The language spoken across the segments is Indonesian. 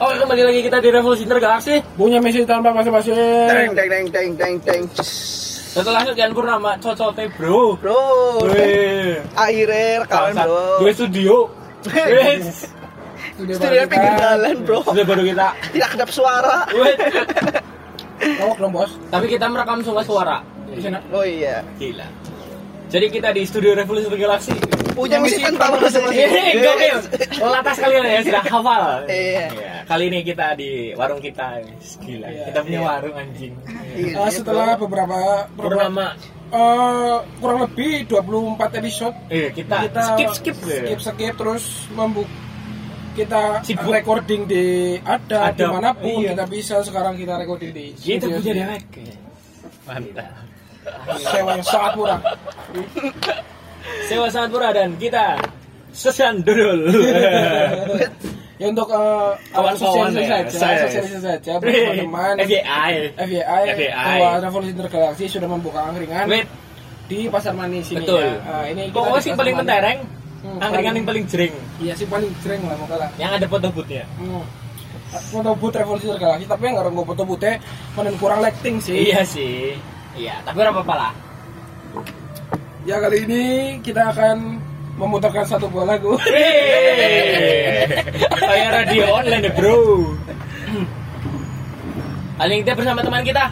Oh, kembali lagi kita di Revolusi Intergalaksi. Punya misi tanpa basa-basi. Teng. Setelah sekian purnama cocote bro. Wih. Akhirnya rekaman bro. Gue studio. Wes. Studio pinggir jalan bro. Sudah baru kita. Tidak kedap suara. Kawak dong bos. Tapi kita merekam semua suara. Oh iya. Gila. Jadi kita di studio Revolusi Intergalaksi. Punya misi tanpa basa-basi. Gokil. Latas kalian ya sudah hafal. Iya. Kali ini kita di warung kita. Gila. Kita punya warung anjing. Setelah beberapa Purnama. Kurang lebih 24 episode. Kita skip. Terus kita Sibuk. recording di dimanapun iya. kita bisa. Sekarang kita recording di Kita studio. punya dewek. Mantap. Sewa yang sangat murah. Sewa sangat murah dan kita sesan dodol. Ya untuk Kawan-kawan sosialisasi saja buat teman-teman FYI bahwa Revolusi Intergalaksi sudah membuka angkringan Wait, di Pasar Manis ini. betul. Ya. Ini kita Pokoknya di sih Pasar paling Manis. mentereng, angkringan yang paling jering, Iya sih paling sering lah makanya. yang ada foto booth-nya. Foto booth Revolusi Intergalaksi tapi nggak nggak foto boothnya menen kurang lighting sih. Iya sih. Iya, tapi ora apa-apa lah. Ya kali ini kita akan memutarkan satu buah lagu. Kayak radio online deh, bro. Kali ini kita bersama teman kita.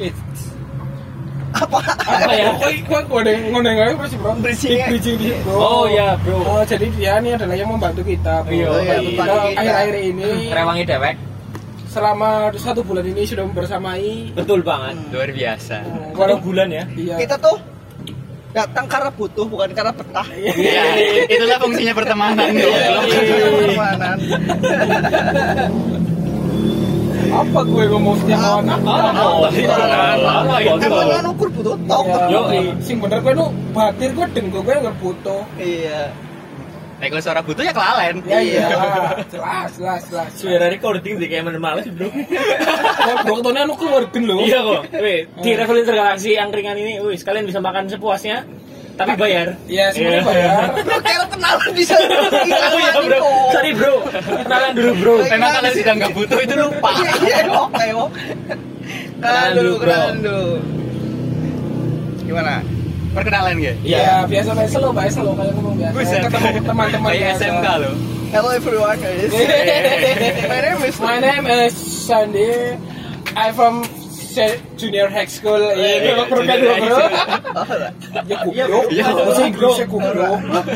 Apa ya? Kok ada ngoneng aja pasti bro. Bridging di bro. Oh ya, bro. Jadi dia ini adalah yang membantu kita. Bro. Iya, Kita akhir-akhir ini Rewangi dewek. selama 1 bulan ini sudah membersamai. Betul banget. Luar biasa. Kalau bulan ya. Iya. Kita tuh datang karena butuh bukan karena betah. Iya, itulah fungsinya pertemanan dong. Pertemanan. Apa gue ngomong setiap kawan Emang ukur butuh tok. Yo, sing bener gue nu batir gue deng gue nggak butuh. Iya. Nek kalau suara butuh ya kelalen. Ya iya, jelas. suara recording sih kayak males bro. Ya bro, ketone anu keluar gen lho. Iya kok. Wih, di Revolusi Intergalaksi angkringan ini, wih, sekalian bisa makan sepuasnya, tapi bayar. Iya, semuanya bayar. Bro kayak kenalan di sana. Oh iya bro, sorry bro, kenalan dulu bro. Memang kalau sudah nggak butuh itu lupa. Iya, oke. Kenalan dulu. Gimana? Perkenalan ya? Iya, biasa lo kayak ngomong biasa. Buset. Ketemu teman-teman Kayak biasa. SMK loh. Hello everyone. My name is Sandy. I'm from Junior High School. Iya, bro. Ya goblok. Iya. Bahasa Inggrisnya goblok.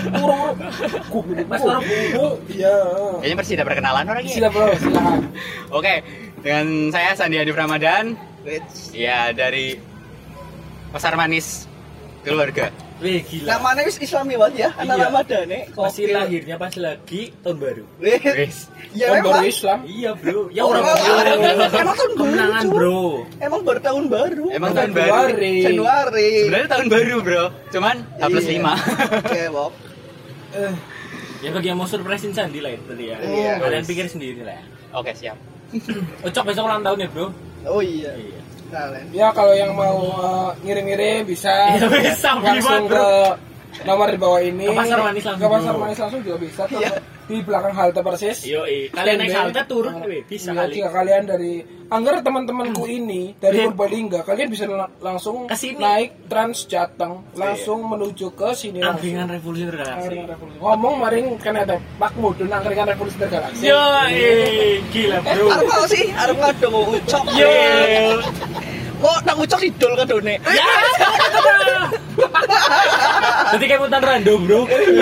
Iya. Kayaknya masih ada perkenalan orang ya? Silakan bro, silakan. Oke, dengan saya Sandi Hanif Ramadan. Ya, dari Pasar Manis Keluarga. Wih gila. Namanya wis Islami banget ya, anak Iya. Ramadan nih. Masih lahirnya pas lagi tahun baru. Wes. Ya Tahun baru memang. Islam. Iya bro. Ya Oh, orang emang tahun baru, kemenangan cuy. bro. Emang baru tahun baru. Emang tahun baru. Januari. Sebenarnya tahun baru, Bro. Cuman H+5. Oke, Bob. Ya bagi yang mau surprisein Sandi lah itu tadi ya. Iya. Kalian pikir sendiri lah. Oke, siap. Ucok besok ulang tahun ya bro. Oh iya. Iya. Kalian. Ya kalau yang mau ngirim-ngirim bisa Iya, bisa, langsung bro. ke nomor di bawah ini. Ke Pasar Manis langsung. Ke Pasar Manis langsung juga bisa. Iya. Di belakang halte persis. Yoi, kalian naik halte turun bisa Iya, kali. jika kalian dari anggar teman-temanku ini dari Purbalingga, kalian bisa langsung Kesini. naik Trans Jateng, langsung menuju ke sini langsung. Angkringan Revolusi Intergalaksi. Angkringan Revolusi. Ngomong maring kan ada Pak Mudun Angkringan Revolusi Intergalaksi. Yoi, gila bro. Arep apa sih? Arep ngado mau ucok. Yo. Kok nang ucok idol kadone? Ya. Nanti kayak mutan rando bro.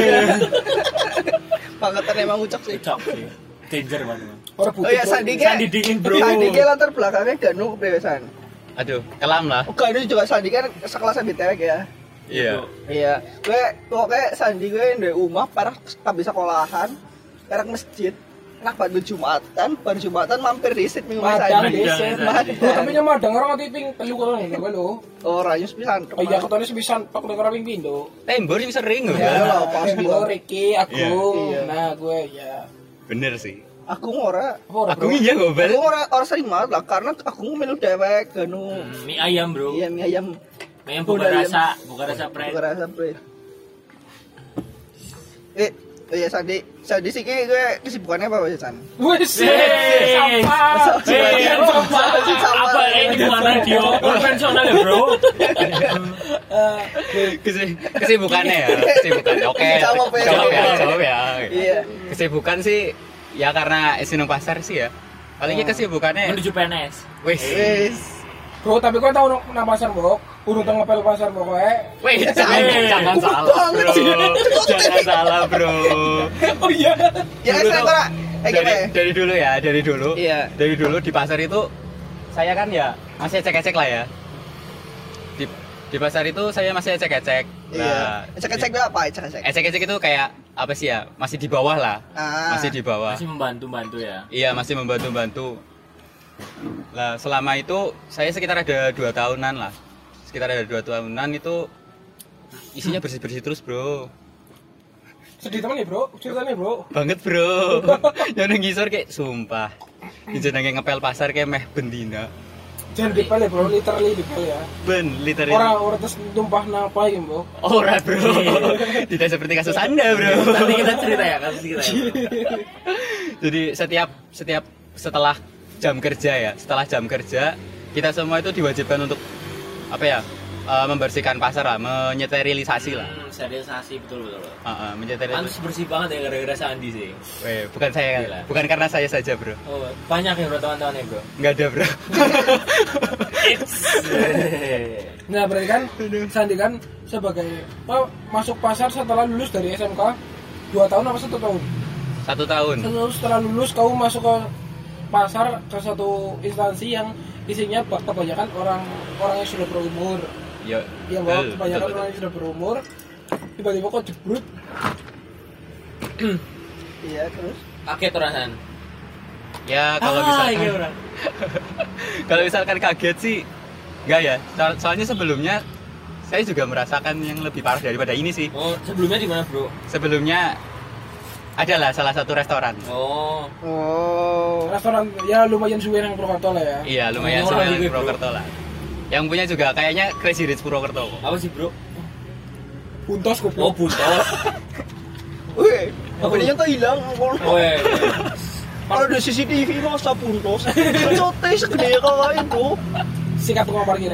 Bangetan emang ucok sih. Ucok sih. Danger banget. Orang Oh iya, Sandi ge. Sandi dingin, bro. Sandi ge latar belakangnya Ganu kebebasan. Aduh, kelam lah. Oh, Ganu juga Sandi kan sekelas BTW ya. Iya. Iya, gue pokoknya Sandi gue dari rumah parah habis sekolahan, sekarang masjid, nak bantu Jumatan, baru Jumatan mampir riset minggu Madang Sandi. desa. Madang. Tapi nya madang orang tiping telu kalau nih lho. Oh, rayus pisan. Oh iya ketone sepisan tok nek ora ping pindho. Tembor sih sering loh. Ya lah, pasti Gue lah. Ricky, Agung. Iya. Nah, gue ya. Bener sih. Aku ora, Aku iya gobel. aku ora sering banget lah, karena aku melu dewek, Ganu. Mie ayam bro. Iya, mie ayam. Mie ayam bukan Udah, rasa, bukan rasa Bukan pret. rasa, Bre. iya Sandi sih gue kesibukannya apa Mas San? Wes, Sampah. Sama. Apa ini bukan radio konvensional ya, Bro? Kesibukannya ya, kesibukannya. Oke, Jawab ya. jawab ya. Iya. Kesibukan sih ya karena Sinung Pasar sih ya. Palingnya kesibukannya Menuju PNS. wis. Wis. Bro, tapi kau tahu nang pasar, Bro? Urung teng ngepel pasar pokoknya. Wih, jangan salah, banget sih. bro. Jangan salah, bro. Oh iya. Ya Dulu saya tuh, ora. dari dulu ya, dari dulu. Iya. Dari dulu di pasar itu saya kan ya masih ecek-ecek lah ya. Di pasar itu saya masih ecek-ecek. Iya. Cek-cek itu apa? Cek-cek. Ecek-ecek itu kayak apa sih ya? Masih di bawah lah. Masih di bawah. Masih membantu ya. Iya, masih membantu-bantu. Lah, selama itu saya sekitar ada 2 tahunan lah. Sekitar ada 2 tahunan itu isinya bersih-bersih terus, bro. Sedih teman ya, Bro? Ceritanya, Bro. Banget, bro. Yang nang ngisor kayak sumpah. Jenenge ngepel pasar kayak meh bendina. Jangan dipel ya, Bro. Literally dipel ya. Ben, literally. Orang terus tumpah napa ya, Bro? Ora, bro. Tidak seperti kasus Anda, bro. Nanti kita cerita ya kasus kita. Ya. Jadi setiap setelah jam kerja ya, setelah jam kerja kita semua itu diwajibkan untuk apa ya? Membersihkan pasar lah, menyterilisasi lah. Sterilisasi betul. Menyterilisasi. Pantes bersih banget ya gara-gara Sandi sih. Weh, bukan saya, Gila. bukan karena saya saja, bro. Oh, banyak ya bro teman-teman ya bro. Nggak ada, bro. Nah, berarti kan Sandi kan sebagai masuk pasar setelah lulus dari SMK 2 tahun apa 1 tahun? 1 tahun. Setelah lulus kamu masuk ke pasar ke satu instansi yang isinya kebanyakan orang yang sudah berumur. Yo, Iya, Bang, kebanyakan orang yang sudah berumur. Tiba-tiba kok jebrut. Iya, terus. Kaget orasan. Ya kalau misalkan iya orang. kalau misalkan kaget sih enggak ya. Soalnya sebelumnya saya juga merasakan yang lebih parah daripada ini sih. Oh, sebelumnya di mana bro? Sebelumnya adalah salah satu restoran. Oh, Restoran ya lumayan suwe nang Purwokerto lah ya. Iya, lumayan Orang sama juga, bro. Purwokerto lah. Yang punya juga kayaknya Crazy Rich Purwokerto. apa sih bro? Buntos Oh, goblok. buntos. Wih, apa dia tuh hilang? Oh, iya. Kalau ada CCTV masa puntos. Cote segede kawain tuh. Sikat tukang parkir.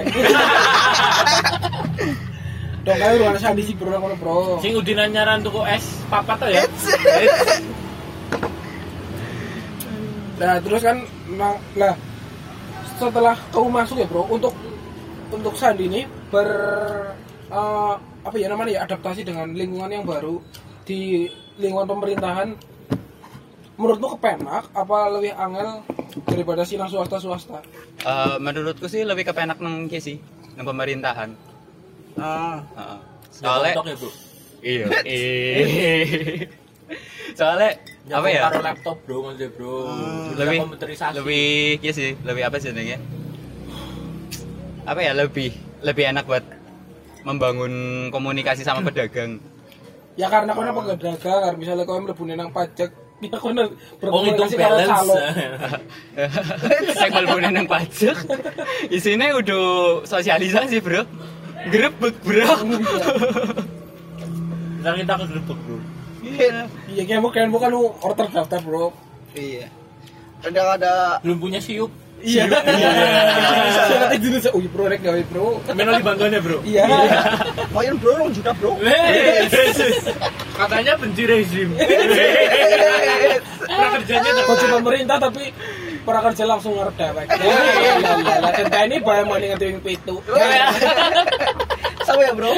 Dong kali ruang Sandi sih bro ngono, Bro. Sing udinan nyaran tuku es papat tuh ya. Nah, terus kan lah setelah kamu masuk ya, Bro, untuk Sandi ini apa ya namanya ya, adaptasi dengan lingkungan yang baru di lingkungan pemerintahan. Menurutmu kepenak apa lebih angel daripada sinang swasta? Menurutku sih lebih kepenak nang ki sih, nang pemerintahan. Soalnya Soalnya ya bro. iya. Soalnya apa ya? Taruh laptop bro maksudnya bro. Lebih komputerisasi. lebih iya sih, lebih apa sih namanya? Apa ya, lebih enak buat membangun komunikasi sama pedagang. Ya karena kau pedagang, misalnya kau mlebu nang pajak, ya kau Oh, itu berkomunikasi karo balance. calo. Saya mlebu nang pajak. Isine udah sosialisasi, bro. Grebek, bro. Ntar kita ke grebek bro. Iya, kayak bukan order daftar, Bro. Iya. Ada Belum punya siup. Iya. Saya itu dulu oh, Bro, rek gawe, Bro. Melo di banggaannya bro. Iya. main bro 2 juta bro. Katanya benci rezim. Prakerjanya Kok cuma pemerintah tapi para kerja langsung ngerdewek. Lah tenda ini bayar mani nganti wing 7. Sama ya bro.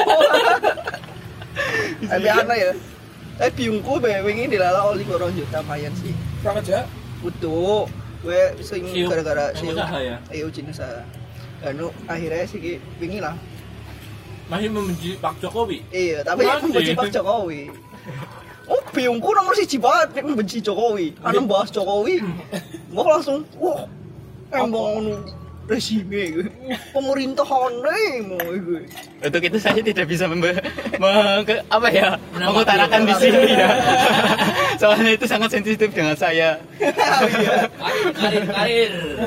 Tapi aneh ya. Biungku wingi dilala oli 2 juta mayan sih. Pra kerja. Butuh. Gue sing Siup. gara-gara Yang usaha ya? Iya, izin usaha. Anu akhirnya sih wingi lah. Masih membenci Pak Jokowi. Iya, tapi Masih. membenci Pak Jokowi. Oh, biungku nomor 1 banget membenci Jokowi. Ana bahas Jokowi. Gua langsung, wah, emang resime gue. Pemerintahan mau gue. Untuk itu saya tidak bisa apa ya, mengutarakan di sini ya. Soalnya itu sangat sensitif dengan saya. Karir.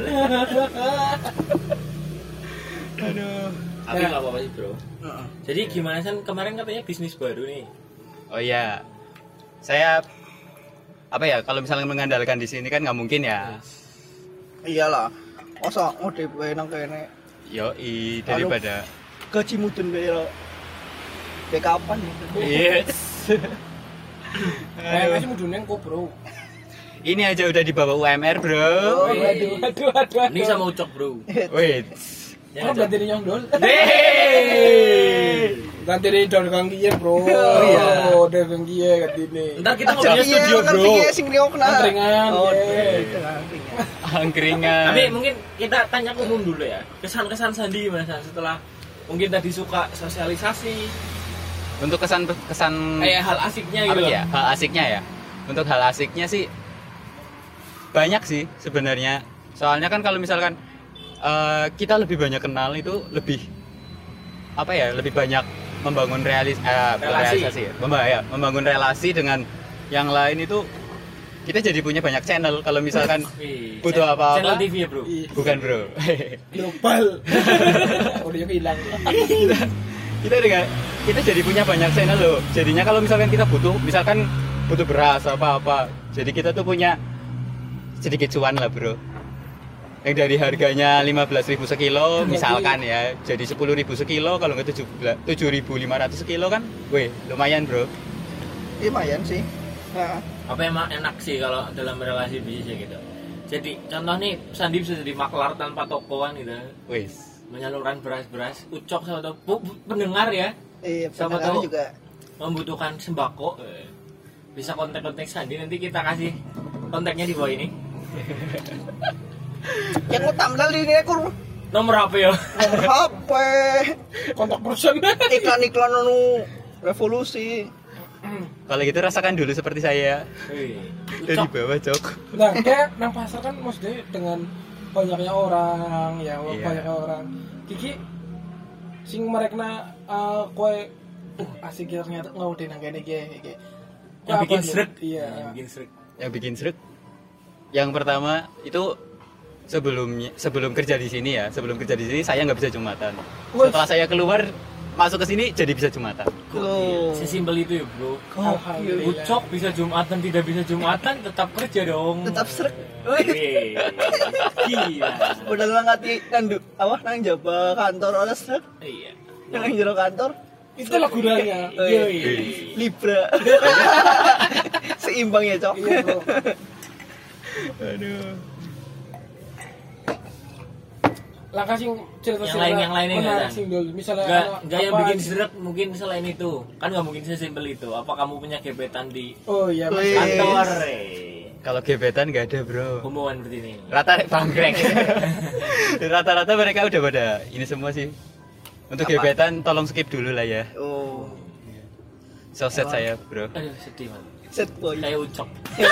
Aduh. Tapi nggak apa-apa sih bro. Jadi gimana sih kemarin katanya bisnis baru nih? Oh iya. saya apa ya, kalau misalnya mengandalkan di sini kan nggak mungkin ya. Iyalah. Masa ngode wae nang kene. Yoi, daripada Gaji mudun kayak kayak kapan gitu. yes. Kayaknya mudune kok, Bro. Ini aja udah di bawah UMR, Bro. Oh, Aduh. Ini sama ucok, Bro. Wait. Oh, ganti ini nyondol. Hei. Ganti ini dol kang kiye, Bro. iya. Oh, dol kang kiye ganti ini. Ntar kita ngobrolnya studio, kan Bro. piye sing riokna. Angkringan, Oh, iya. angkringan. Angkringan. Tapi mungkin kita tanya umum dulu ya. Kesan-kesan Sandi gimana San? Setelah mungkin tadi suka sosialisasi, Untuk kesan kayak hal asiknya apa gitu. ya? Hal asiknya ya. Untuk hal asiknya sih banyak sih sebenarnya. Soalnya kan kalau misalkan kita lebih banyak kenal itu lebih apa ya? Lebih banyak membangun Relasi. realisasi ya. Membangun relasi dengan yang lain itu kita jadi punya banyak channel. Kalau misalkan Wih, butuh apa-apa. Channel TV ya, Bro. Bukan, Bro. Global. Udah yang hilang. kita jadi punya banyak channel loh. Jadinya kalau misalkan kita butuh beras apa-apa, jadi kita tuh punya sedikit cuan lah, Bro. Yang dari harganya 15.000 sekilo misalkan ya, jadi 10.000 sekilo, kalau nggak 7.500 sekilo kan, weh lumayan, Bro. Lumayan sih. Nah, Apa emang enak sih kalau dalam relasi bisnis gitu. Jadi contoh nih Sandi bisa jadi maklar tanpa tokoan gitu. Wes. Menyalurkan beras-beras, ucok sama pendengar ya. Sama pendengar tahu juga. Membutuhkan sembako. Bisa kontak-kontak Sandi, nanti kita kasih kontaknya di bawah ini. Yang utamanya ini aku Nomor HP ya. nomor HP, Kontak person. iklan-iklan anu revolusi. Kalau gitu rasakan dulu seperti saya dari Ucok. bawah, Cok. Nah, kayak nang pasar kan maksudnya dengan banyaknya orang, ya Iya. banyaknya orang. Kiki sing merekna kowe asik ya ternyata ngawude nang kene iki. Yang bikin srek. Iya. Yang bikin srek. Yang bikin srek. Yang pertama itu sebelum kerja di sini ya, sebelum kerja di sini saya nggak bisa Jumatan. Wes. Setelah saya keluar masuk ke sini jadi bisa Jumatan. Oh. Sesimpel itu ya, Bro. Alhamdulillah. Ucok bisa Jumatan, tidak bisa Jumatan, tetap kerja dong. Tetap srek. Wih, gila. Udah ngati nang jaba kantor oleh srek. Iya. Nang jero kantor Itulah gunanya. Yoi. Libra. Seimbang ya, Cok. Iya, Bro. Aduh. Langkah sing cerita Yang lainnya menarik enggak, sing dul. Misalnya Enggak yang apa bikin aja. seret mungkin selain itu. Kan nggak mungkin sesimpel itu. Apa kamu punya gebetan di Oh iya, Mas. Wih. kantor? Kalau gebetan nggak ada, Bro. Hubungan seperti ini. Rata bangkrek. Rata-rata mereka udah pada ini semua sih. Untuk Apa? gebetan tolong skip dulu lah ya. Oh, Soset saya, Bro. Aduh, sedih banget. set boy. Kayak ucok.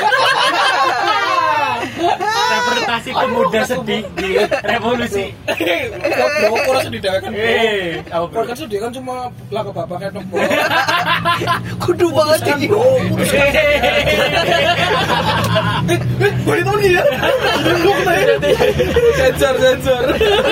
Interpretasi pemuda sedih di revolusi. Bro, kok rasa didewekan. Apa bro? Kok kan sedih kan cuma lagu bapak kayak tok. Kudu banget ini. Boleh tahu nih ya? Sensor.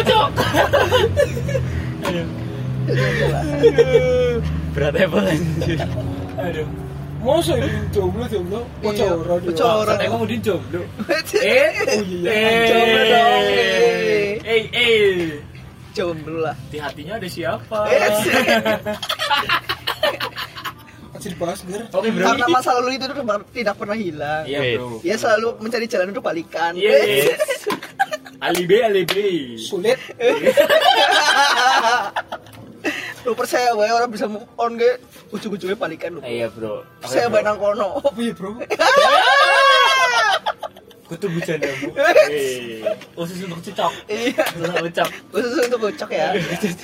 Berat Apple anjir. Aduh. Masa ini jomblo. Bocor. Bocor. Saya kemudian jomblo. Oh iya. Jomblo dong. Jomblo lah. Di hatinya ada siapa? Masih dibahas ger. Oke bro. Karena masa lalu itu tidak pernah hilang. Iya bro. Dia selalu mencari jalan untuk balikan. Yes. Alibi. Sulit. Lu percaya wae orang bisa move on ge ujung-ujungnya balikan lu. Iya bro. Saya bae nang kono. Iya bro. Kutu bercanda bu. Khusus untuk cocok. Iya. Untuk ucap. Khusus untuk kocok ya.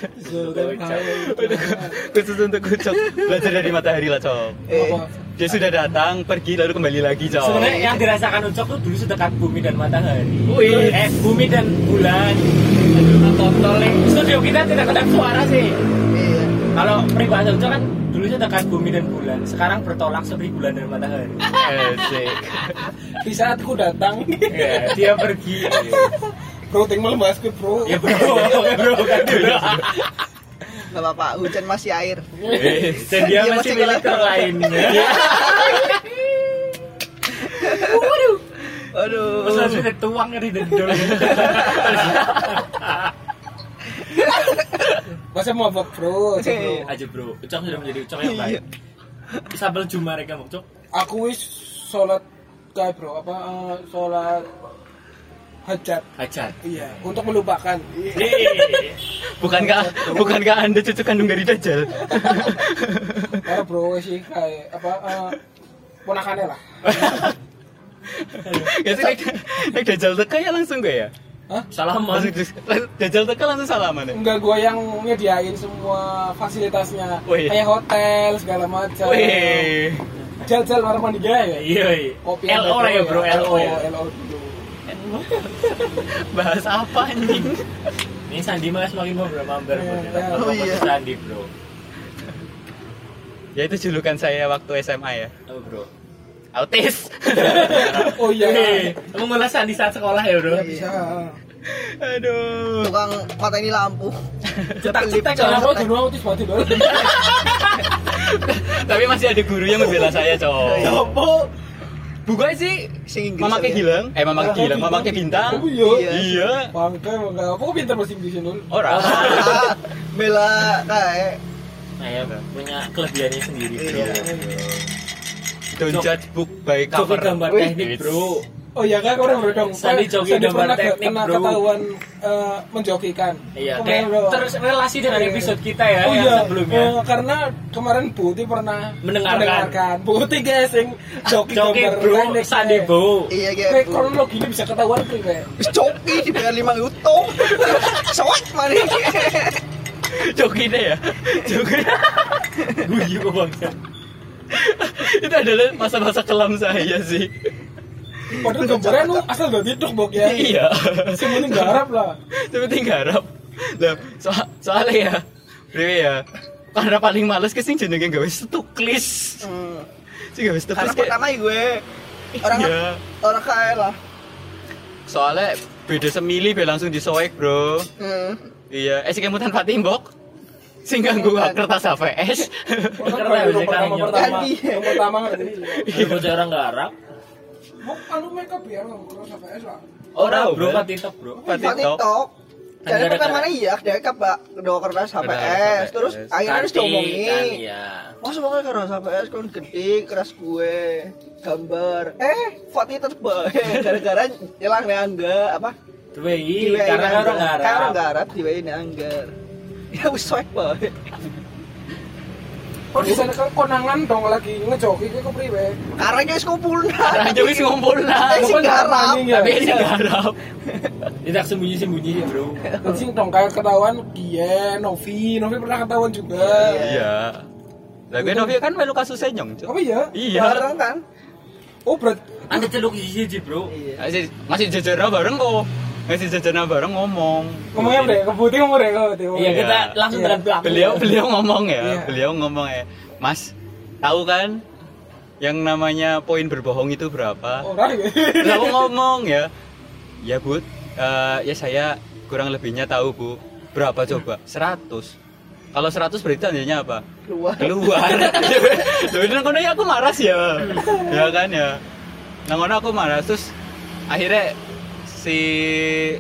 Khusus untuk Cok. Belajar dari matahari lah, Cok. Dia sudah datang, pergi lalu kembali lagi, Cok. Sebenarnya yang dirasakan ucap tuh dulu sedekat bumi dan matahari. Wih. Bumi dan bulan. Tontolnya. Studio kita tidak kedap suara sih. Iya. Kalau peribahasa ucap kan dulu sedekat bumi dan bulan. Sekarang bertolak seperti bulan dan matahari. Asik. Di saat ku datang, Ya, dia pergi. bro tinggal membahas ke bro. Ya bro, kan dulu. Enggak apa-apa, hujan masih air. Dan dia Dia masih masih milik kelihatan. lain. Aduh. Terus langsung dituang di dendol. Masa mau bro, bro. Aja bro, Ucok sudah menjadi Ucok yang baik. Isabel Juma mereka Ucok. Aku wis sholat kayak bro, sholat hajat. Iya, untuk melupakan. Bukankah Anda cucu kandung dari Dajjal? Karena bro sih kayak ponakannya lah. Ya sih nek Dajjal teka ya langsung gak ya? Hah? Salaman. Dajjal teka langsung salaman ya? Enggak, gua yang nyediain semua fasilitasnya. Wih. Kayak hotel segala macam. Wih. Jal kamar mandi gaya ya. Iya. Kopi LO lah ya bro, LO ya. LO dulu. Bahas apa anjing? Ini Sandi mas semakin ngobrol mampir bro. Oh, iya. Sandi bro. Ya itu julukan saya waktu SMA ya. Oh bro. Autis. Oh iya. Kamu ngulas Sandi saat sekolah ya bro? Ya bisa. Aduh. Tukang mateni lampu. Cetak-cetak Jangan kalau mau dulu autis mati dulu. Tapi masih ada guru yang membela saya, cowok. Sopo? Bukan sih, Sing Inggris. Mama ke Gilang, Mama ke Gilang, Mama ke Bintang. Oh iya. Iya. Bangke enggak. Apa kok pintar bahasa Inggris dulu? Ora. Bela kayak Nah ya punya kelebihannya sendiri bro. Don't judge book by Coba cover. gambar Wih. teknik bro. Oh iya kan orang bro dong. Sandi joki gambar teknik, pernah bro. ketahuan menjokikan. Iya, Oh, kayak bro. terus relasi dengan episode kita ya Oh yang iya, sebelumnya. karena kemarin Buti pernah Mendengarkan. Buti guys yang joki Joki gambar bro, teknik, Sandi kayak. bro. iya Kayak kayak kronologi ini bisa ketahuan kayak. wis coki dibayar 5 juta. Soat mari. Joki deh ya. Joki. Guyu kok bangsa. Itu adalah masa-masa kelam saya sih. Padahal gambarnya lu asal dari TikTok bok ya. Iya. Semuanya garap lah. Seperti garap. Lah, soalnya ya, Bro ya. Karena paling males ke sing jenenge gawe stuklis. Sing gawe Karena stuklis kayak pertama gue orang Iya. orang kaya lah. soalnya beda semili be langsung disoek, Bro. Iya, sing kemutan Fatimbok. Sing ganggu kertas HVS. Yang pertama ngerti. Ada bocah orang garap. Anu makeup ya, kalau HPS lah. Orang Bro. bro kan TikTok bro. TikTok. Jadi Ada pertama iya, dia dua kertas HPS, terus akhirnya harus Kan, diomongin. iya. Masa pakai kertas HPS kan gede, keras gue, gambar. Fatih tetep baik, gara-gara hilang nih angga apa? Diwehi karena orang garap. Karena orang garap diwehi nih anggar. Ya wis soek baik. Oh di sana kan konangan dong lagi ngejoki ke priwe. Karena wis kumpul. Karena aja wis ngumpul lah. Sing garap. Tapi sing garap. Tidak sembunyi-sembunyi sih bro. Dan sing dong kayak ketahuan dia, Novi pernah ketahuan juga. Iya. Lah gue Novi kan melu kasusnya nyong, Cuk. Oh iya. Iya. Bareng kan? Oh berat. Anda celuk siji bro. Iya. Masih jajarnya bareng kok. Masih jajarnya bareng ngomong. Ngomongnya apa deh? Kebuti ngomong deh kalau dia. Iya kita langsung Iya. dengan belakang. Beliau ngomong ya. Iya. Beliau ngomong ya. Mas, tahu kan yang namanya poin berbohong itu berapa? Orang ya. Terus aku ngomong ya. Ya, Bu. Ya saya kurang lebihnya tahu, Bu. Berapa coba? 100. Kalau 100 berarti tandanya apa? Keluar. Loh, itu kono ya aku marah ya. Ya kan ya. Nah, kono aku marah terus akhirnya si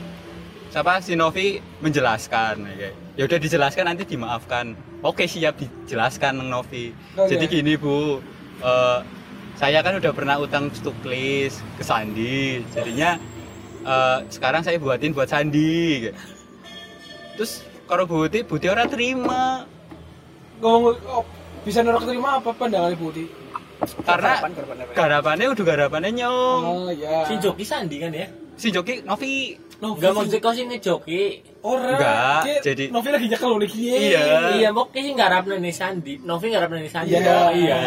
Novi menjelaskan ya udah dijelaskan nanti dimaafkan. Oke, siap dijelaskan Nang Novi. Oh, Jadi iya. gini, Bu. Saya kan udah pernah utang stuklis ke Sandi. Jadinya sekarang saya buatin buat Sandi. Terus kalau Buti orang terima. Ngomong bisa nolak terima apa pandangan Buti? Karena garapannya nyong. Oh iya. Si Joki Sandi kan ya. Si Joki Novi Enggak mau kau sih ngejoki. Orang. Enggak, Kayak jadi Novi lagi nyekel nih. Iya. Iya, mau sih ngarap nih Sandi. Novi ngarap nih Sandi. Iya. Oh, iya.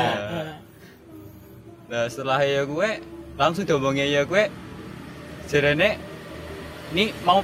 Nah setelah ya gue langsung diomongnya ya gue jarene ini mau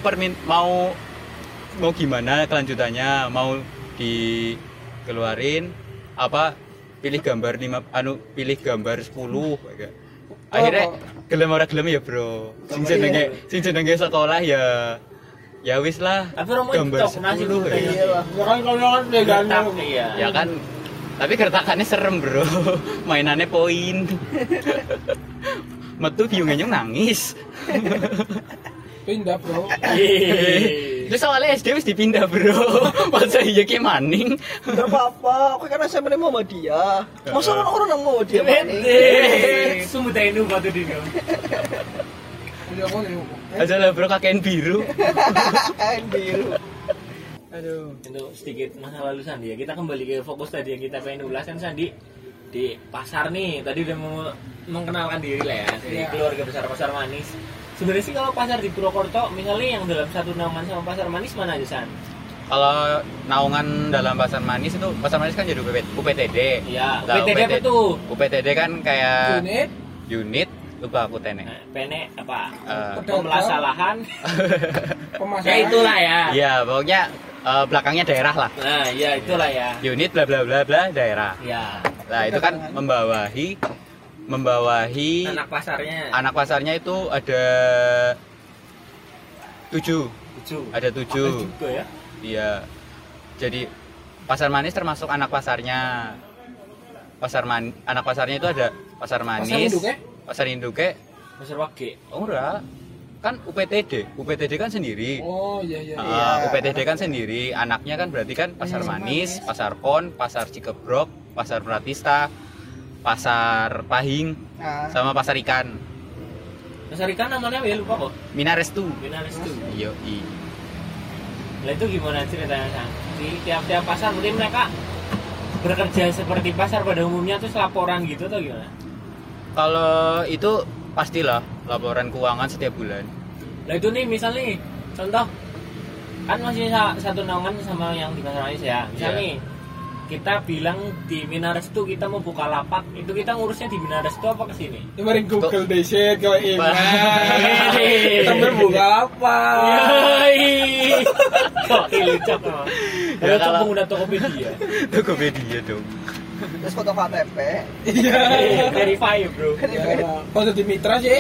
gimana kelanjutannya, mau dikeluarin apa pilih gambar 10 kayak. Akhirnya gelem ora gelem ya, Bro. Sing jenenge sekolah ya wis lah. Tapi orang mau gambar TikTok, nasi 10 putih. ya. Iya lah. Ya kan kalau Gertak, iya. Ya kan, tapi gertakannya serem, Bro. Mainannya poin. metu biung nangis. Pindah, Bro. Terus soalnya SD wis dipindah, Bro. Masa iya ki maning. Enggak apa-apa, aku kan SMP Muhammadiyah. Masa orang nang Muhammadiyah maning? Sumut ini batu dino. Udah aku nih. Aja lah, Bro, kakean biru. Biru. Aduh. Itu sedikit masa lalu Sandi ya. Kita kembali ke fokus tadi yang kita pengen ulas kan Sandi di pasar nih. Tadi udah mengenalkan diri lah ya dari keluarga besar Pasar Manis. Sebenarnya sih kalau pasar di Purwokerto misalnya yang dalam satu naungan sama Pasar Manis mana aja San? Kalau naungan dalam Pasar Manis itu, Pasar Manis kan jadi UPTD. Iya, Nah, UPTD apa tuh? UPTD kan kayak Unit, lupa aku tenek. Pene apa? Pedagang. Pemasalahan. pemasaran. Ya itulah ya. Iya, pokoknya belakangnya daerah lah. Nah, ya itulah ya. Unit bla bla bla bla daerah. Ya. Nah, itu kan membawahi Anak pasarnya itu ada 7. 7. Ada 7. Juga ya. Iya. Jadi Pasar Manis termasuk anak pasarnya. Anak pasarnya itu ada Pasar Manis. Pasar Induke. Pasar Wage. Oh enggak. Kan UPTD. UPTD kan sendiri. Oh iya. UPTD kan sendiri. Anaknya kan berarti kan Pasar Manis, Pasar Pon, Pasar Cikebrok, Pasar Pratista, Pasar Pahing, sama Pasar Ikan. Pasar Ikan namanya ya lupa kok. Minarestu. Iya. Nah itu gimana ceritanya San? Di tiap-tiap pasar mungkin mereka bekerja seperti pasar pada umumnya terus laporan gitu atau gimana? Kalau itu pastilah laporan keuangan setiap bulan. Nah itu nih misalnya nih, contoh kan masih satu naungan sama yang di Pasar Manis ya. Misalnya nih kita bilang di Minarestu kita mau buka lapak, itu kita ngurusnya di Minarestu apa ke sini? Kemarin Google deh shit kalau ingat. Kita berbuka apa? Kok ilicak loh. Ya, Kalau kalau- pengguna Tokopedia. Tokopedia dong. Terus foto KTP. Iya. Verify bro. Kalau di Mitra sih.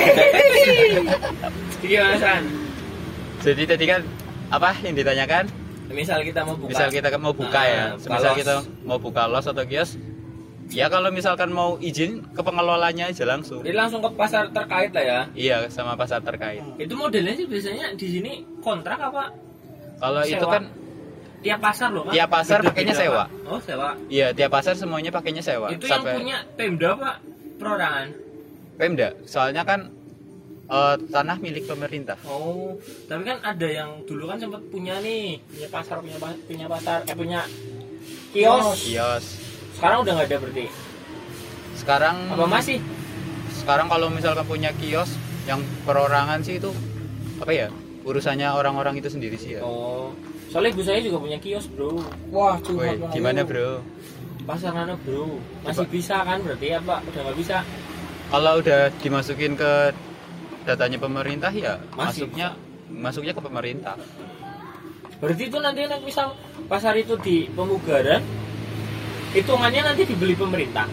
Gimana San? Jadi tadi kan apa yang ditanyakan? Misal kita mau buka. Misal kita mau buka ya. Misal los. kita mau buka los atau kios. Ya kalau misalkan mau izin ke pengelolanya aja langsung. Jadi langsung ke pasar terkait lah ya. Iya, sama pasar terkait. Itu modelnya sih biasanya di sini kontrak apa? Kalau itu Sewa. kan Tiap pasar loh kan? Tiap pasar Beda-beda, pakainya Pak. sewa. Oh sewa. iya, tiap pasar semuanya pakainya sewa. Itu yang punya Pemda apa? Perorangan. Pemda. Soalnya kan tanah milik pemerintah. Oh, tapi kan ada yang dulu kan sempat punya nih, punya pasar, punya kios. Kios. Sekarang udah nggak ada berarti. Sekarang Apa masih? Sekarang kalau misalkan punya kios yang perorangan sih itu apa ya? Urusannya orang-orang itu sendiri sih ya. Oh, soalnya ibu saya juga punya kios bro. Wah, Woi, curhat. gimana bro? Pasar mana bro? Masih bisa kan berarti apa? Udah nggak bisa? Kalau udah dimasukin ke datanya pemerintah ya Masih masuknya ke pemerintah. Berarti itu nanti misal pasar itu di Pemugaran, hitungannya nanti dibeli pemerintah.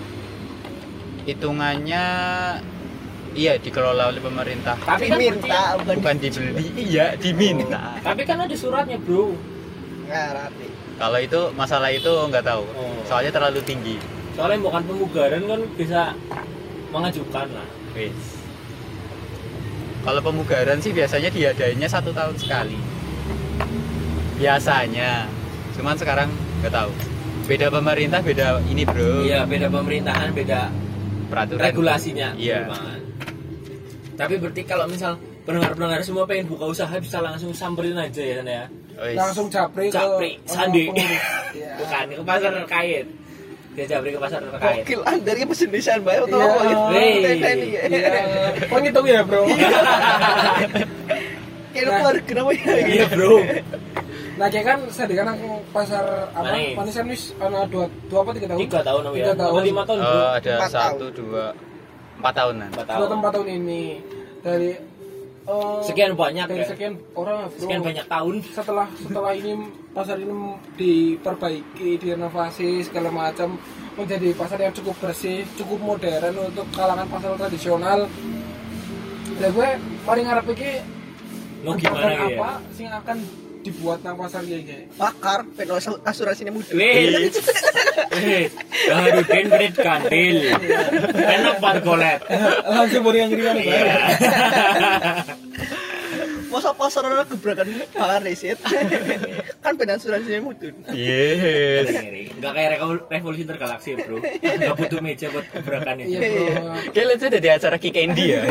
Hitungannya iya dikelola oleh pemerintah. Tapi kan Diminta berarti, Bukan dibeli, iya diminta. tapi kan ada suratnya bro. ngarati. Kalau itu masalah itu nggak tahu. Oh. Soalnya terlalu tinggi. Soalnya bukan Pemugaran kan bisa mengajukan lah. Wis. Kalau pemugaran sih biasanya diadainnya 1 tahun sekali. Biasanya. Cuman sekarang nggak tahu. Beda pemerintah, beda ini bro. Iya, beda pemerintahan, beda Peraturan. regulasinya. Iya. Memang. Tapi berarti kalau misal pendengar-pendengar semua pengen buka usaha bisa langsung samperin aja ya San ya. Wis. Langsung japri ke Sandi. pengurus. Iya. Bukan ke pasar terkait. Dia japri ke pasar terkait. Gokil dari pesendesan bae atau Iya. apa gitu. Wih. Teni ya. Iya. Kok ngitung ya, Bro? Kayak keluar kenapa ya? Iya, Bro. Nah, kayak kan saya kan aku pasar apa? Manis. Manis kan wis ana 2 apa 3 tahun? 3 tahun ya. 3 tahun. 5 tahun, Bro. Ada 4 tahun. 1, 2, 4 tahunan. 4 2 tahun. atau 4 tahun ini dari Sekian banyak dari ya. sekian orang, Bro. Sekian banyak tahun. Setelah ini pasar ini diperbaiki, direnovasi segala macam menjadi pasar yang cukup bersih, cukup modern untuk kalangan pasar tradisional. Lah gue paling ngarep iki Mau gimana kebijakan ya? apa sing akan dibuat nang pasar iki. Pakar penol asuransinya mudah. Wis. Haruden kredit kandil. Enak banget golet. Langsung beri yang ngiriman Iya. Masa pasar orang gebrakan pakar riset. Kan penol asuransinya mudah. Yes. Enggak kayak revolusi tergalaksi, Bro. Enggak butuh meja buat gebrakan Iya, itu. Bro. Kalian sudah di acara Ki Candy ya?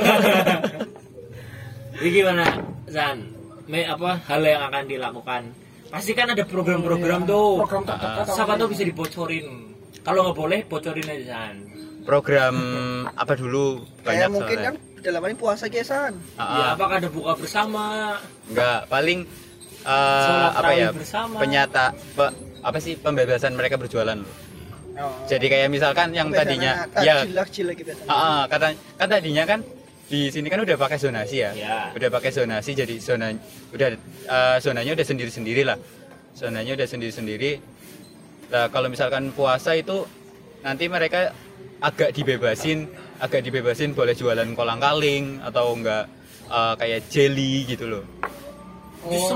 Ini gimana, Zan? Hal yang akan dilakukan? Pasti kan ada program-program tuh. Program terdekat. Siapa tuh bisa dibocorin? Kalau nggak boleh, bocorin aja, Zan. Program apa dulu? Kayak Banyak mungkin soalnya. kan dalam ini puasa kesan. Ya, apakah ada buka bersama? Enggak, paling Sholat apa tarawih ya? bersama. Apa sih pembebasan mereka berjualan loh. Oh. Jadi kayak misalkan yang tadinya ya takjil gitu. kan tadinya kan di sini kan udah pakai zonasi ya. Ya. Udah pakai zonasi jadi zonanya udah sendiri-sendiri lah. Zonanya udah sendiri-sendiri. Nah, kalau misalkan puasa itu nanti mereka agak dibebasin boleh jualan kolang-kaling atau enggak kayak jelly gitu loh. Itu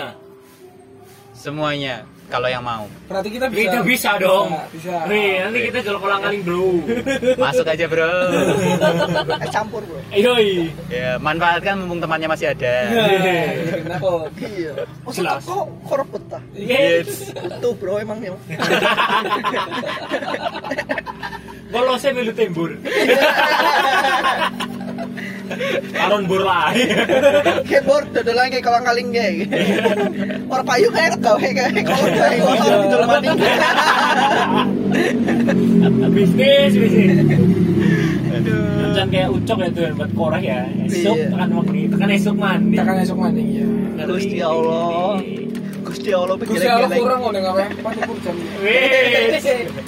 semuanya Kalau yang mau. Berarti kita Kita bisa dong. Bisa. Nanti kita jual kolang-kaling, Bro. Masuk aja, Bro. Campur, Bro. Yoi. Ya, manfaatkan mumpung temannya masih ada. Kenapa? Iya. Masa Jelas. kok koropet ta? Yes. Tuh, Bro, emang ya. Kalau saya milu tembur. Aron bur lah. Keyboard dodolan kayak kolang-kaling kayak. Orang payu kayak gawe kayak kalau dari kotor di dalam mandi. Bisnis. Jangan kayak ucok ya tuh buat korek ya. Esok Iya. tekan mandi, tekan esok mandi. Kita kan esok mandi ya. Gusti Allah. Gusti Allah Gusti Allah geleng-geleng. kurang ngene ngawe 40 jam. Wes.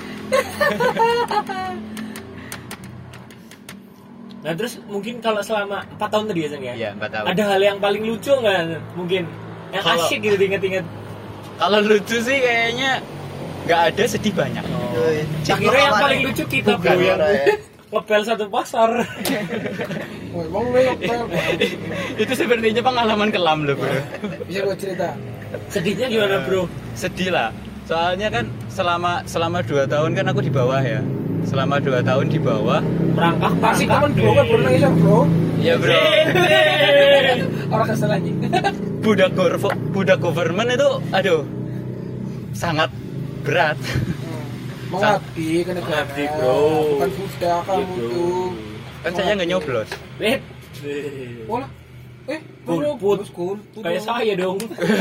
Nah terus mungkin kalau selama 4 tahun tadi ya San ya? Iya, 4 tahun. Ada hal yang paling lucu nggak mungkin? Yang Kalau- asyik gitu diinget-inget. Kalau lucu sih kayaknya nggak ada, sedih banyak. Yoi. Tak kira yang paling lucu kita bro Bukan, yang Bro, ya. ngepel satu pasar. Wah, emang lu ngepel, Bro. Itu sebenarnya pengalaman kelam loh, Bro. Bisa gue cerita. Sedihnya gimana bro? Sedih lah. Soalnya kan selama 2 tahun kan aku di bawah ya. Selama 2 tahun di bawah. Merangkak Pasti kapan bro kan pernah nangis bro. Ya, Bro. Orang kesel anjing. Budak government itu aduh sangat berat. Mengabdi ke negara. Mengabdi, bro. Bukan budak kamu Iya, bro. tuh. Kan saya nggak nyoblos. Wait. Olah. Golput. Kayak saya dong.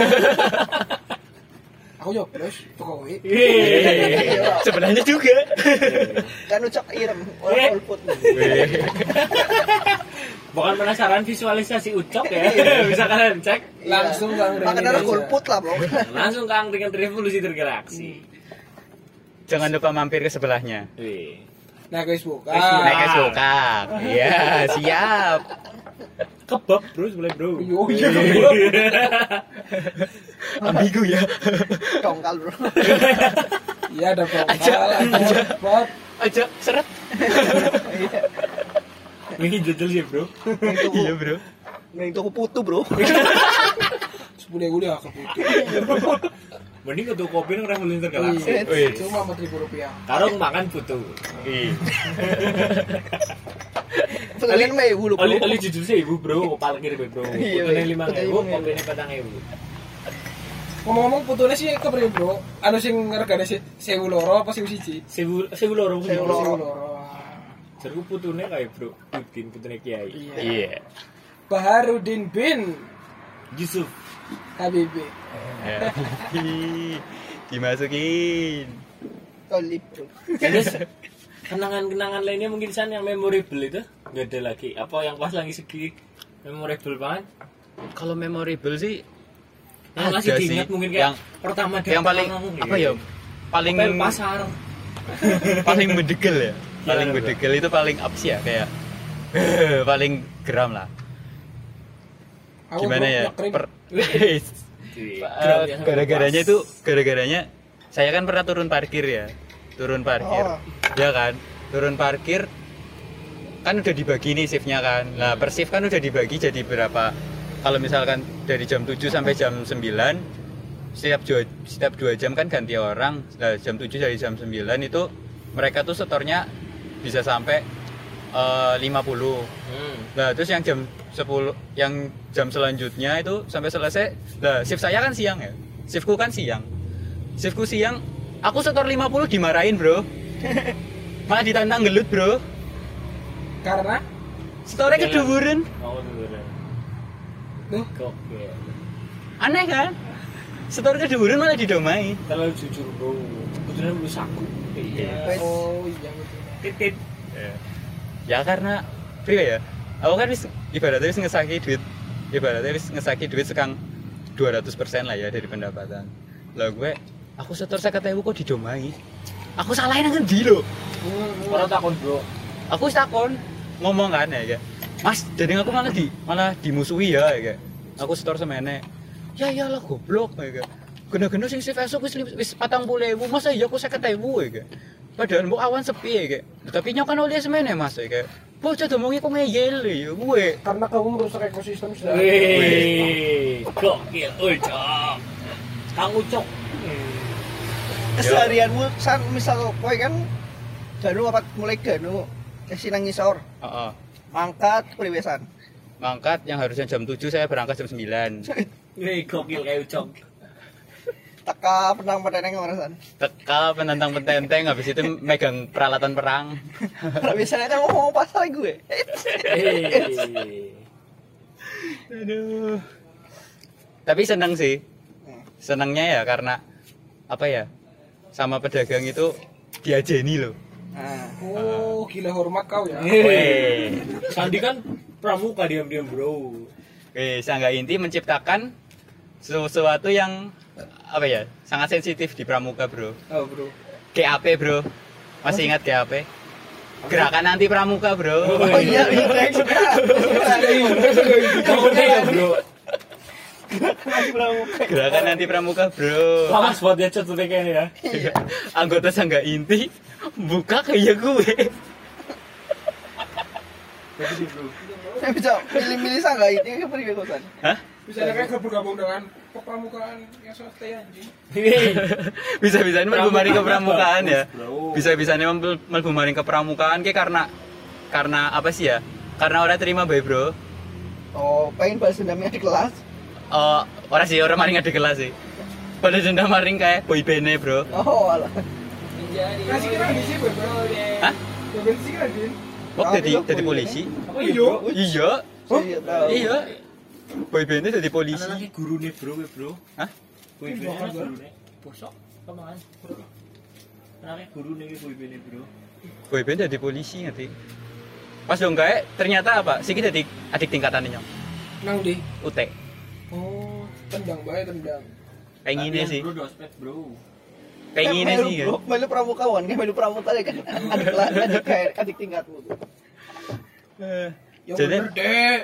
Aku nyoblos Jokowi. Sebenarnya juga. Kan ucap irem orang golput. Bukan penasaran visualisasi ucap ya? Bisa kalian cek. Langsung Kang Reni. Makanya golput lah, Bro. Langsung Kang dengan revolusi tergalaksi. Jangan lupa mampir ke sebelahnya. Wih. Nah, guys, buka. Naik es bokap. Iya, siap. Kebab bro sebelah bro. Oh iya. Ambigu ya. Dongkal, Bro. Iya ada bokal, Aja. ada bokap. Aja seret. Ini jajal sih bro. Iya, Bro. Yang itu putu, Bro. 10.000 dia ke putih. Mending ke kopi nang revolusi tergalaksi. Iya. Wih. Cuma 4.000 rupiah. Karung makan putu. Pelangin mah ibu lu, Bro. Ali jujur sih ibu bro, parkir bro. Iya, Putune iya. 5.000, kopi ini 4.000. Ngomong-ngomong putune sih kepriye, Bro? Anu sing regane 1.000 loro apa 1.000 siji? 1.000 loro. 1.000 loro. 1.000 loro. Jarku putune kayak bro, Udin putune Kiai. Iya. Iya. Baharudin bin Yusuf. Habibie. Ya. Dimasukin. Kali, Bro. Terus kenangan-kenangan lainnya mungkin San yang memorable itu nggak ada lagi. Apa yang pas lagi segi memorable banget? Kalau memorable sih Yang masih ada diingat sih. mungkin kayak yang pertama yang paling apa ya? Paling Ngepel pasar. paling bedegel ya. Paling Gimana, bedegel itu paling apa sih ya kayak paling geram lah. Aku, Gimana Bro, ya? nyekrim. Gara-garanya saya kan pernah turun parkir ya. Turun parkir. Oh. Ya kan? Turun parkir kan udah dibagi nih shiftnya kan. Nah, per shift kan udah dibagi jadi berapa kalau misalkan dari jam 7 sampai jam 9 setiap 2 jam kan ganti orang. Nah, jam 7 dari jam 9 itu mereka tuh setornya bisa sampai 50. Nah, terus yang jam 10 yang jam selanjutnya itu sampai selesai. Nah, shift saya kan siang ya. Shiftku kan siang. Shiftku siang, aku setor 50 dimarahin, Bro. Malah ditantang gelut, Bro. Karena Setornya keduburan. Oh, dulu. Tuh. Gokil. Aneh kan? Setor keduburan malah didomai. Terlalu jujur, Bro. Kebetulan beli saku. Iya. oh iya betul. Titit. Ya karena priwe ya. Aku kan ibaratnya wis ngesaki duit sekang 200% lah ya dari pendapatan. Lah aku setor 50.000 kok didomai. Aku salahin nang endi lho? Orang takon, Bro. Aku wis takon ngomong kan ya, Mas, jadi aku malah dimusuhi ya, Aku setor semene. Ya iyalah goblok ya. Gena-gena sing shift esuk wis 40.000, masa iya aku 50.000 ya. Padahal mbok awan sepi ya, tapi nyok kan oleh semene Mas ya. Bocah domongi kok ngeyel ya gue. Karena kamu merusak ekosistem sudah. Wih, gokil, Ucok. Kang Ucok. Keseharianmu san misal kowe kan ganu apa mulai ganu sinang ngisor. Heeh. Mangkat priwesan. Mangkat yang harusnya jam 7 saya berangkat jam 9. Wih, gokil kayak Ucok. Teka penang peteng ngarasan. Teka penantang petenteng habis itu megang peralatan perang. Biasanya kan ngomong pasal gue. Aduh. Tapi seneng sih. Senengnya ya karena apa ya? Sama pedagang itu diajeni loh. Nah, Oh, gila hormat kau ya. Weh. Sandi kan pramuka diam-diam, Bro. Sangga inti menciptakan sesuatu yang apa ya? Sangat sensitif di pramuka, Bro. Oh, Bro. GAP, Bro. Masih ingat GAP? Gerakan anti pramuka, Bro. oh iya, saya juga. Kamu ya, Bro. Gerakan anti pramuka, Bro. Lawas buat dia cut kayaknya ya. Anggota sangga inti buka kayak gue. Saya bisa milih-milih sangga ini ke priwesan. Hah? Bisa kayak bergabung dengan kepramukaan yang swasta anjing. Bisa-bisanya melbu maring ke pramukaan ya. Bro. Bisa-bisanya melbu maring ke pramukaan kayak karena apa sih ya? Karena orang terima bae, Bro. Oh, pengen balas dendamnya di kelas. Orang sih orang maring ada kelas sih. Pada dendam maring kayak boyband-e, Bro. Oh, alah. Kasih kira di sini, Bro. Hah? Beben sih kan, Din. Kok jadi polisi? Apa ya, Bro? Iya. Saya tahu. Iya. Boyband-e jadi polisi. Anaknya guru nih, Bro. Hah? Boyband guru nih. Bosok, kemana? Anaknya guru nih, boyband Bro. Boyband jadi polisi ngerti. Pas dong kayak ternyata apa? Siki jadi adik tingkatannya nyong. Nang di. UT. Oh, tendang bae tendang. Pengennya sih. Bro, dospet, Bro. Pengennya sih kan. Melu pramukawan, kayak melu pramuka ya kan. Adik kelas, adik tingkatmu. Ya Jadi- bener, Dek.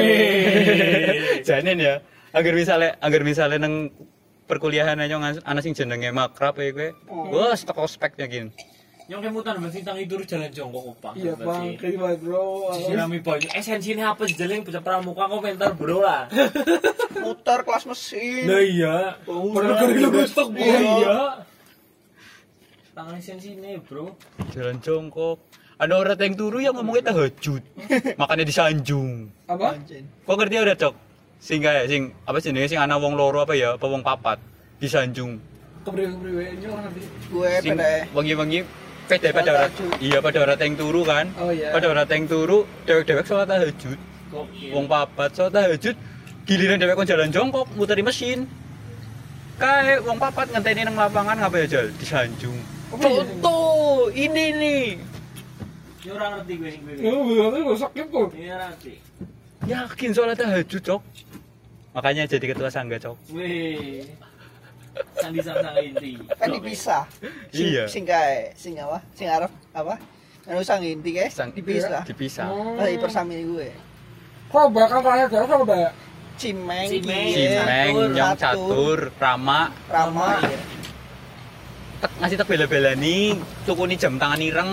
Janin ya. Agar misalnya nang perkuliahan aja anak sing jenenge makrab ya gue. Wah, stok ospeknya gini. Yang kemutan bensin tang itu jalan jongkok opang. Iya, Bang. Terima, Bro. Sinami banyak. Esensinya apa sih jalan bisa pramuka komentar, Bro lah. Muter kelas mesin. Nah iya. Padahal kali lu besok, Bro. Iya. Tangan esensinya, Bro. Jalan jongkok. Ada orang yang turu yang ngomongnya tahajud. Makanya disanjung. Apa? Anjing. Kok ngerti ada cok? Sing kayak sing apa sih sing ana wong loro apa ya, apa wong papat disanjung. Kepriwe-kepriwe ini orang nanti. Gue Sing pada wengi-wengi pada orang. Iya, pada orang yang turu kan. Oh iya. Pada orang yang turu, dewek-dewek sholat tahajud. Gokil. Wong papat sholat tahajud, giliran dewek kon jalan jongkok muteri mesin. Kayak wong papat ngenteni nang lapangan ngapa ya jal disanjung. Contoh ini nih. Ini orang ngerti gue nih gue. Oh, bener lu sakit kok. Ini orang ngerti. Yakin sholat tahajud cok. Makanya jadi ketua sangga cok. Wih. Sandi sang inti. kan dipisah. Iya. Sing kae, sing apa? Sing arep apa? Anu sang inti guys, dipisah. Dipisah. Lah persami gue. Kok bakal terakhir gak sama Mbak? Cimeng, Cimeng, Cimeng, nyong catur, Rama, Rama. ngasih tak bela-bela nih, tukuni jam tangan ireng.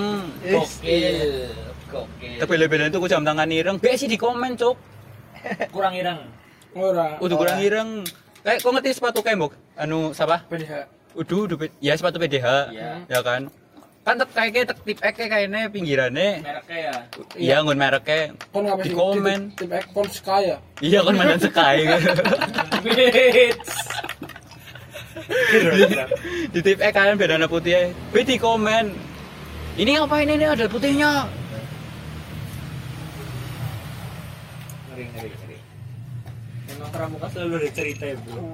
Gokil. Gokil. Tak bela-bela tuku jam tangan ireng, be sih di komen cok. Kurang ireng. Ora. Udah kurang ireng. Kayak kok ngerti sepatu kembok? Anu siapa? PDH. Ya sepatu PDH. Iya. Ya kan? Kan kayaknya tip kayaknya pinggirannya. Mereknya ya. Iya ngun mereknya. Kon ngapa Di sih? komen. Tip kon Skya. Iya kan mandan Sky kan. Di tip kalian bedana putih. Di komen. Ini ngapain ini ada putihnya? Ngeri. Emang pramuka selalu ada cerita ya, Bro.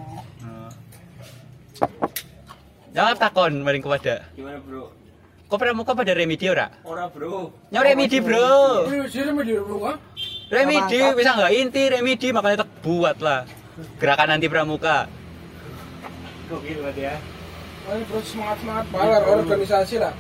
Jangan takon maring kepada. Gimana, Bro? Kok pramuka pada remedi ora? Ora, Bro. Nyaw remedi, Bro. Sini mah di rumah. Remedi bisa nggak inti remedi makanya tak buat lah gerakan anti pramuka. Gokil banget ya. Ayo bro semangat balar organisasi lah.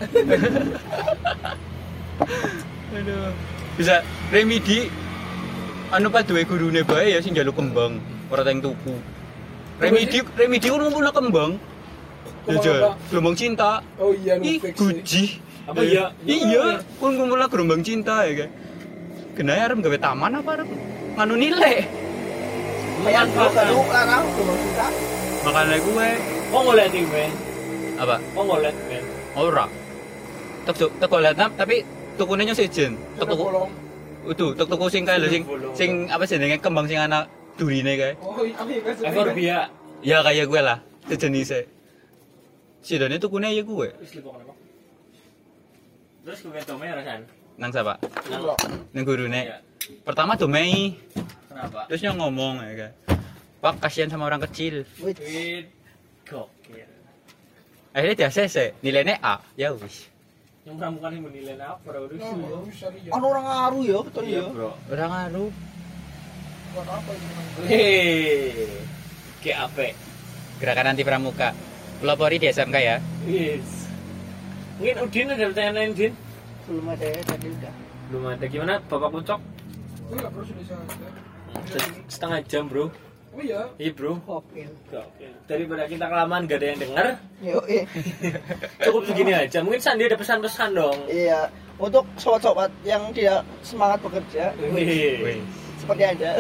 Aduh. Bisa remedi anu pas duwe gurune bae ya sing njaluk kembang ora teng tuku. Remedi ku ngumpulna kembang. Ya gelombang cinta. Oh iya Ih, fix. guji. Apa iya? Iya, kun ngumpulna gelombang cinta ya kan. Genah arep gawe taman apa arep nganu nilai. Lumayan bro, seru larang, belum suka. Makane gue Kok ngeliat ini, Ben? apa? Kok ngeliat, Ben? Ora. Tek golek tapi tukune nyo sejen. Tek tuku. Tek tuku sing kae lho sing apa jenenge kembang sing ana durine kae. Oh iya kan. Ekor biak. Ya kayak gue lah, sejenisnya. Sidone tukune ya gue. Wis lipo kenapa? Terus gue domai rasan. Nang sapa? Nang Nang gurune. Iya. Pertama domei, Kenapa? terus nyo ngomong ya kan. Pak kasihan sama orang kecil. Wit. Gokil. Akhirnya dia ACC, nilainya A. Ya wis. Yang pramuka ini menilai apa? Bro? Ono orang ngaruh ya, betul Iya, ya. Bro. Ora ngaruh. Buat apa ini? Hei. Kayak apa? Gerakan anti pramuka. Pelopori di SMK ya. Yes. Mungkin Udin ada pertanyaan lain, Din? Belum ada ya, tadi udah. Belum ada. Gimana Bapak Pucok? Enggak bro sudah saya. Setengah jam, Bro. Oh iya. Iya, Bro. Oke. Gokil. Daripada kita kelamaan gak ada yang denger, Yuk, cukup segini aja. Mungkin Sandi ada pesan-pesan dong. iya. Untuk sobat-sobat yang tidak semangat bekerja, Wih. seperti Anda.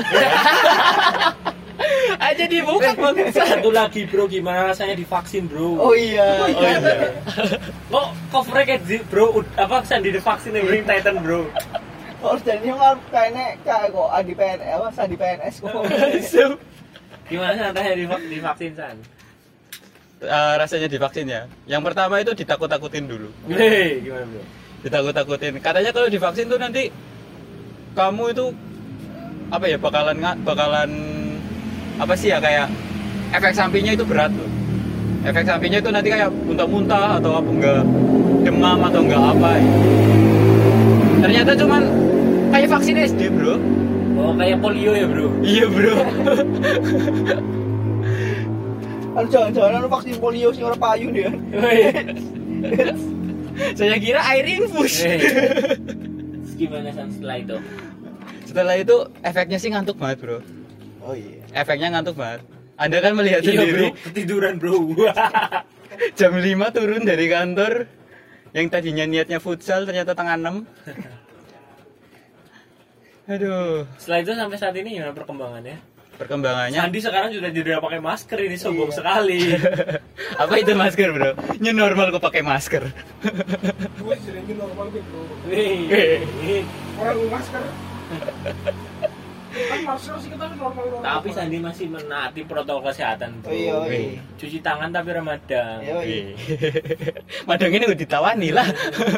Aja dibuka Satu lagi, Bro, gimana rasanya divaksin, Bro? Oh iya. Oh iya. Kok covernya kayak Bro, apa Sandi divaksin yang Ring Titan, Bro? Kalau jadi kan kayaknya kayak kok Adi PNS, apa Sandi PNS kok. Gimana rasanya divaksin, San? Rasanya divaksin ya. Yang pertama itu ditakut-takutin dulu. Hei, gimana, Bro? Ditakut-takutin. Katanya kalau divaksin tuh nanti kamu itu apa ya bakalan apa sih ya kayak efek sampingnya itu berat loh. Efek sampingnya itu nanti kayak muntah-muntah atau apa enggak demam atau enggak apa. Ternyata cuman kayak vaksin SD, Bro. Oh, kayak polio ya, Bro? Iya, Bro. Kan jangan-jangan vaksin polio sing ora payu dia. Saya kira air infus. Terus gimana, San, setelah itu? Setelah itu efeknya sih ngantuk banget, Bro. Oh iya. Efeknya ngantuk banget. Anda kan melihat Iya, Bro. sendiri Ketiduran, Bro. jam 5 turun dari kantor. Yang tadinya niatnya futsal ternyata tengah 6. Aduh, Setelah itu sampai saat ini gimana perkembangannya? perkembangannya Sandi sekarang sudah tidak pakai masker, ini sombong sekali. apa itu masker, Bro? New normal kok pakai masker. Gue sering normal gitu bro. Wih. Orang masker. Kan masker sih kita normal. Tapi Sandi masih menaati protokol kesehatan, Bro. Oh iya. Iya. Cuci tangan tapi Ramadan. Iya. Madang ini udah ditawani lah.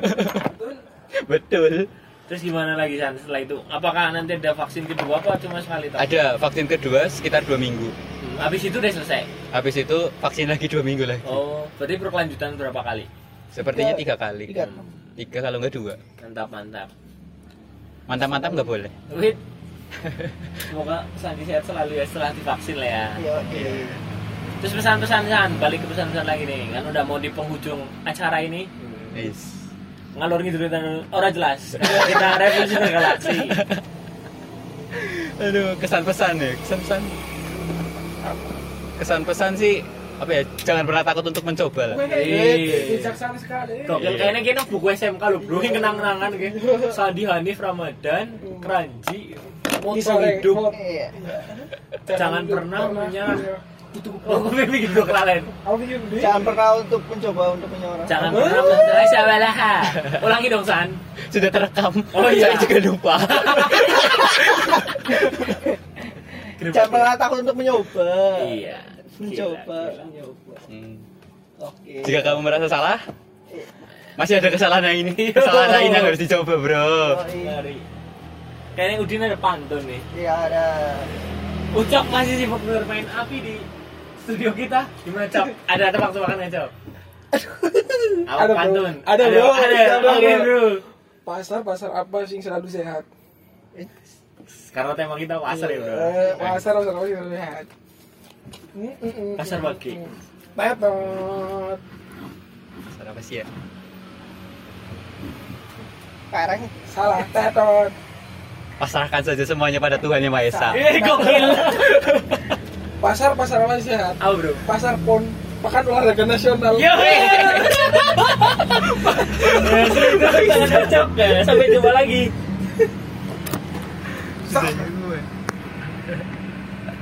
Betul. Terus gimana lagi, San, setelah itu? Apakah nanti ada vaksin kedua apa cuma sekali? Ada vaksin kedua sekitar 2 minggu. Habis itu udah selesai? Habis itu vaksin lagi 2 minggu lagi. Oh, berarti berkelanjutan berapa kali? Sepertinya 3 kali. 3. 3 kalau enggak 2. Mantap. Mantap-mantap nggak boleh. Wait. Semoga Sandi sehat selalu ya setelah divaksin lah ya. Iya. Terus pesan-pesan, San, balik ke pesan-pesan lagi nih. Kan udah mau di penghujung acara ini. Yes. Ngalor ngidul orang jelas. Kita revolusi galaksi. Aduh, kesan-pesan ya, kesan-pesan sih apa ya, jangan pernah takut untuk mencoba lah. Bijaksana sekali. Gokil, kayaknya kita buku SMK loh, Bro, yang kenang-kenangan gitu. Sandi, Hanif, Ramadan, Keranji, moto hidup. Iya. Jangan pernah menyerah. Oh, gue bikin gue kelalen. Aku bikin di. Jangan pernah untuk mencoba untuk menyerah. Jangan pernah menyerah sabalah. Ulangi dong San. Sudah terekam. Oh, iya. Saya juga lupa. Jangan pernah takut untuk mencoba. Iya. Mencoba. Hmm. Oke. Jika kamu merasa salah, masih ada kesalahan yang ini. Kesalahan lain yang harus dicoba, Bro. Ngeri. Kayaknya Udin ada pantun nih. Iya ada. Ucap masih sibuk bermain api di studio kita. Gimana Cok? Ada tebak-tebakan nggak Cok? Apa Ada, Bro. pantun? Ada, Bro. Ada, Oke Bro. bro. Pasar apa sih selalu sehat? Karena tema kita pasar ya bro. Pasar apa sih selalu sehat? Pasar bagi. Tetot. Pasar apa sih ya? Sekarang Salah, tetot. Pasrahkan saja semuanya pada Tuhan Yang Maha Esa. Gokil. Pasar apa sih sehat? Apa bro? Pasar PON, Pekan Olahraga Nasional. Yo. Sudah cocok ya. Sampai jumpa lagi. Sah.